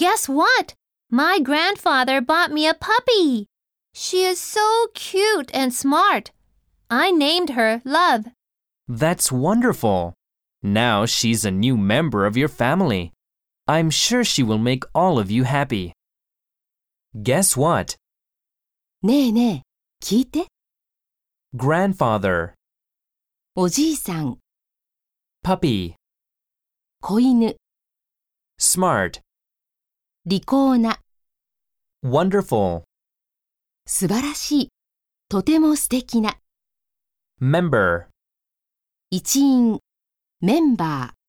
Guess what? My grandfather bought me a puppy. She is so cute and smart. I named her Love. That's wonderful. Now she's a new member of your family. I'm sure she will make all of you happy. Guess what? ねえねえ、聞いて。 Grandfather, おじいさん、 puppy, 子犬、 smart, 利口な、 wonderful, 素晴らしい、とても素敵な、 member. 一員、メンバー。